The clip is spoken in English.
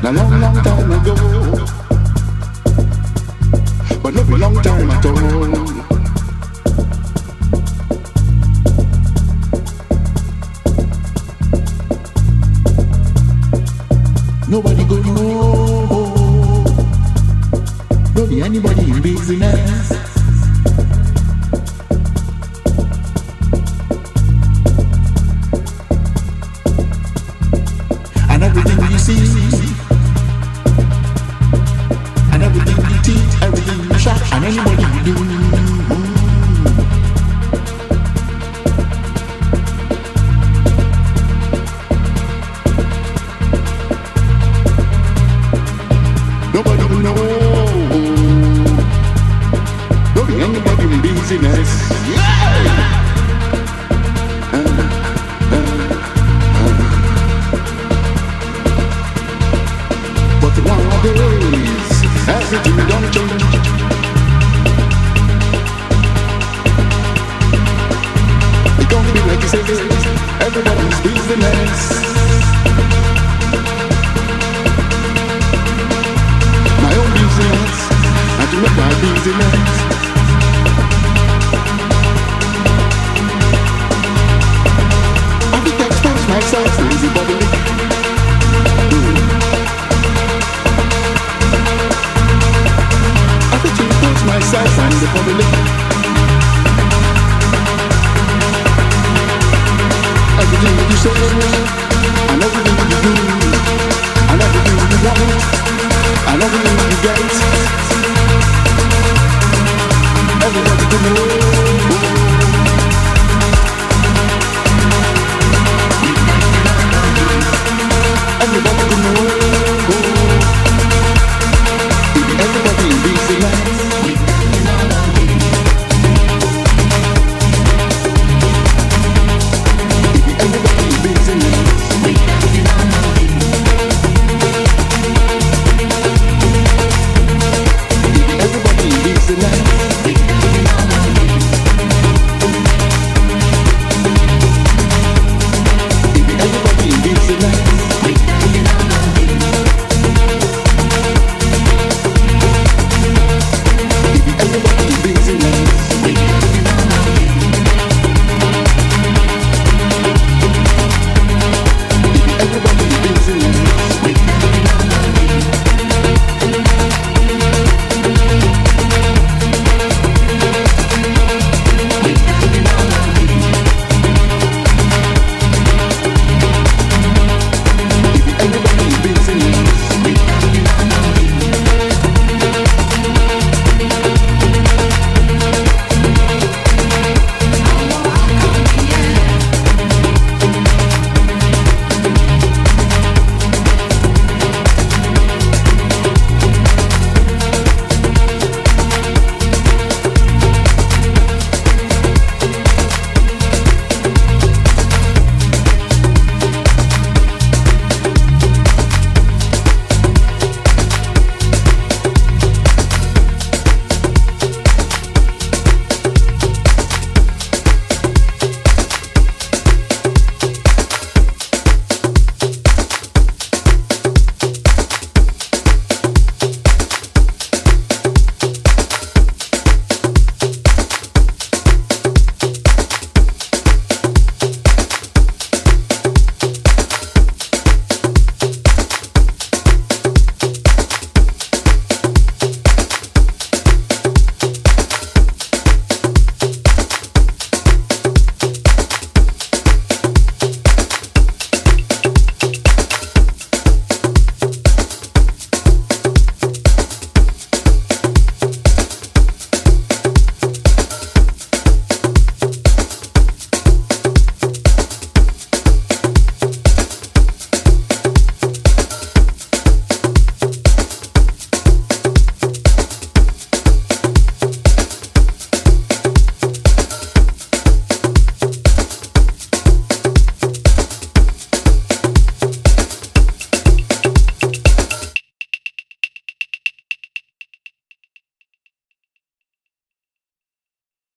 a long, long time ago, but not a long time at all. Nobody go know, don't be anybody in business. And everything you see, and everything you teach, everything you shot, and anybody you do. Nobody will know. Don't be anybody in business. Yeah! But nowadays, everything don't change. It don't be like you say, everybody's business. My own business, and to make my business. I think I expose myself to easy bubbly. I think to expose myself and the public. Everything that you say, and everything that you do, and everything that you want, and everything that you get.